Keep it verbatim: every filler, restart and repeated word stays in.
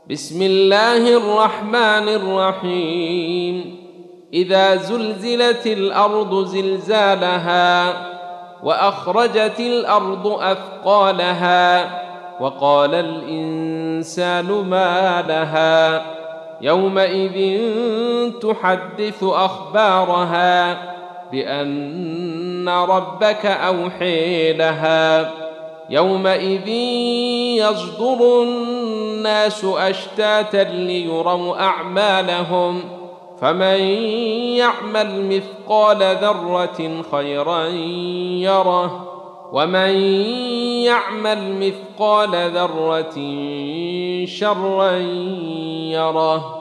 بسم الله الرحمن الرحيم إذا زلزلت الأرض زلزالها وأخرجت الأرض أثقالها وقال الإنسان ما لها يومئذ تحدث أخبارها بأن ربك أوحي لها يومئذ يصدر الناس أشتاتا ليروا أعمالهم فمن يعمل مثقال ذرة خيرا يره ومن يعمل مثقال ذرة شرا يره.